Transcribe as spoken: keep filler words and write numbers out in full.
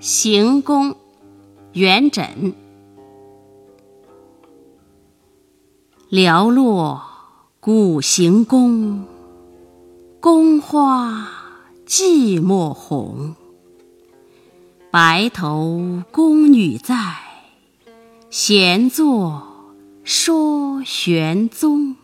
行宫，元稹。寥落古行宫，宫花寂寞红。白头宫女在，闲坐说玄宗。